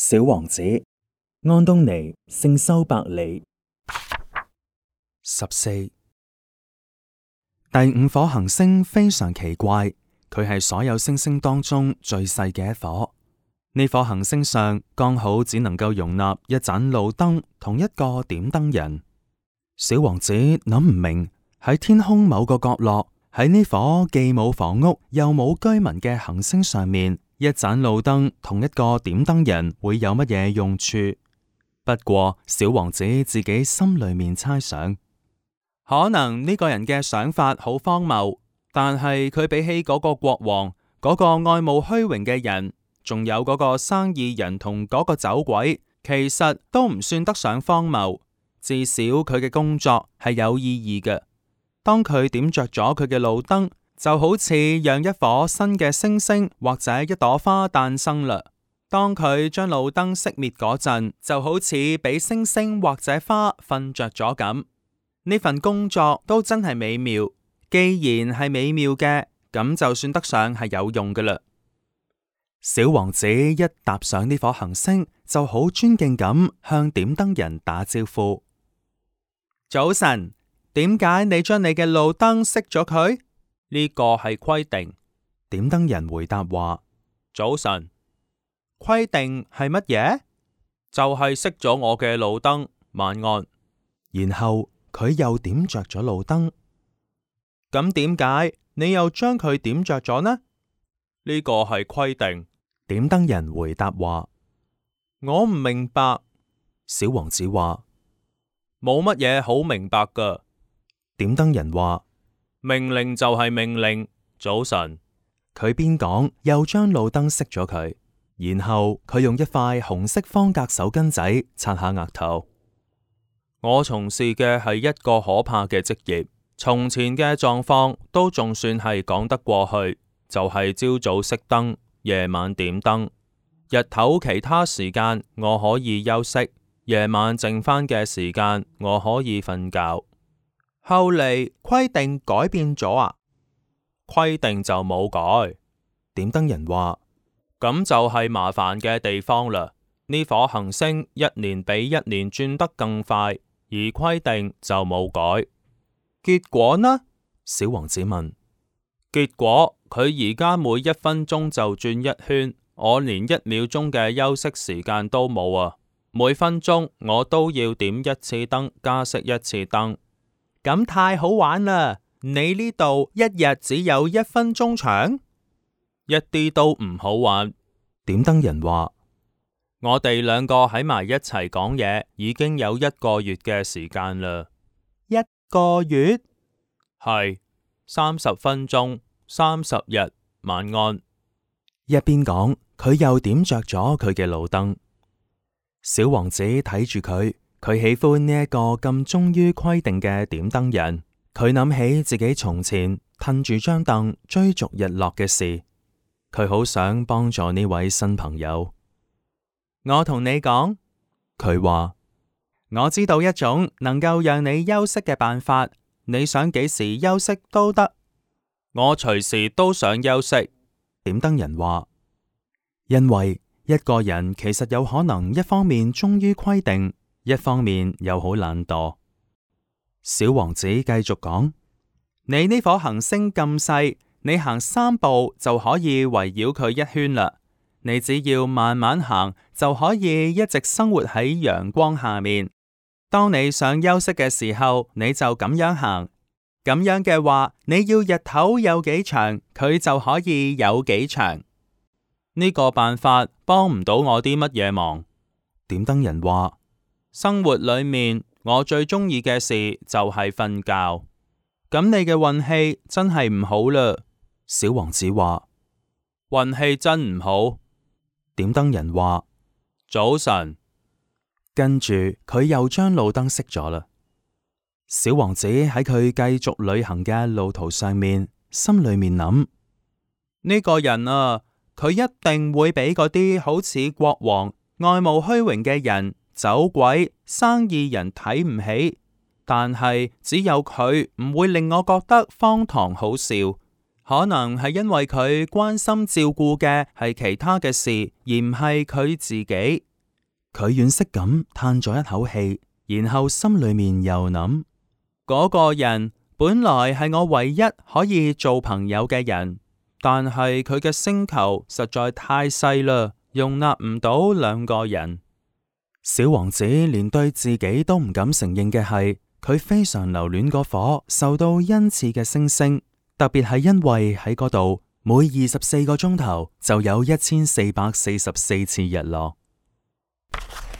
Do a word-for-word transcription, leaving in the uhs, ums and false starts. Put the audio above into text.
小王子，安東尼聖修伯里。 十四，第五顆行星非常奇怪，佢係所有星星當中最細嘅一顆。呢顆行星上剛好只能夠容納一盞路燈同一個點燈人。小王子諗唔明，喺天空某個角落，喺呢顆既冇房屋又冇居民嘅行星上面，一盞路燈同一個點燈人會有乜嘢用處？不過小王子自己心裏面猜想，可能呢個人嘅想法好荒謬，但係佢比起嗰個國王、嗰個愛慕虛榮嘅人，仲有嗰個生意人同嗰個酒鬼，其實都唔算得上荒謬。至少佢嘅工作係有意義嘅。當佢點着咗佢嘅路燈，就好似讓一顆新嘅星星或者一朵花誕生啦。當佢將路燈熄滅嗰陣，就好似俾星星或者花瞓着咗咁。呢份工作都真係美妙。既然係美妙嘅，咁就算得上係有用㗎啦。小王子一踏上呢顆行星，就好尊敬咁向點燈人打招呼。早晨，點解你將你嘅路燈熄咗佢？呢個係規定。點燈人回答話：早晨。規定係乜嘢？就係熄咗我嘅路燈。晚安。然後佢又點着咗路燈。咁點解你又將佢點着咗呢？呢個係規定。點燈人回答話：我唔明白。小王子話：冇乜嘢好明白噶。點燈人話：命令就係命令。早晨。佢邊講又將路燈熄咗佢，然後佢用一塊紅色方格手巾仔擦下額頭。我從事嘅係一個可怕嘅職業，從前嘅狀況都仲算係講得過去，就係朝早熄燈，夜晚點燈。日頭其他時間我可以休息，夜晚剩翻嘅時間我可以瞓覺。後嚟規定改變咗啊？規定就冇改。點燈人話：咁就係麻煩嘅地方啦。呢顆行星一年比一年轉得更快，而規定就冇改。結果呢？小王子問。結果佢而家每一分鐘就轉一圈，我連一秒鐘嘅休息時間都冇啊！每分鐘我都要點一次燈，加熄一次燈。咁太好玩啦！你呢度一日只有一分鐘長？一啲都唔好玩。點燈人話：我哋兩個喺埋一齊講嘢，已經有一個月嘅時間啦。一個月？係。三十分鐘，三十日，晚安。一邊講，佢又點着咗佢嘅路燈。小王子睇住佢，佢喜歡呢一個咁忠於規定嘅點燈人。佢諗起自己從前褪住張凳追逐日落嘅事，佢好想幫助呢位新朋友。我同你講，佢話，我知道一種能夠讓你休息嘅辦法。你想幾時休息都得，我隨時都想休息。點燈人話，因為一個人其實有可能一方面忠於規定，一方面又好懶惰。小王子繼續講：你呢顆行星咁細，你行三步就可以圍繞佢一圈啦。你只要慢慢行，就可以一直生活喺陽光下面。當你想休息嘅時候，你就咁樣行。咁樣嘅話，你要日頭有幾長，佢就可以有幾長。呢個辦法幫唔到我啲乜嘢忙。點燈人話：生活裏面我最中意嘅事就係瞓覺。咁你嘅運氣真係唔好啦。小王子話：運氣真唔好。點燈人話：早晨。跟住佢又將路燈熄咗啦。小王子喺佢繼續旅行嘅路途上面，心裏面諗：呢個人啊，佢一定會俾嗰啲好似國王、愛慕虛榮嘅人、酒鬼、生意人睇唔起。但係只有佢唔會令我覺得荒唐好笑。可能係因為佢關心照顧嘅係其他嘅事，而唔係佢自己。 佢惋惜咁嘆咗一口氣，然後心裏面又諗：嗰個人本來係我唯一可以做朋友嘅人，但係佢嘅星球實在太細啦，容納唔到兩個人。小王子連對自己都唔敢承認嘅係，佢非常留戀嗰顆受到恩賜嘅星星，特別係因為喺嗰度每二十四個鐘頭就有一千四百四十四次日落。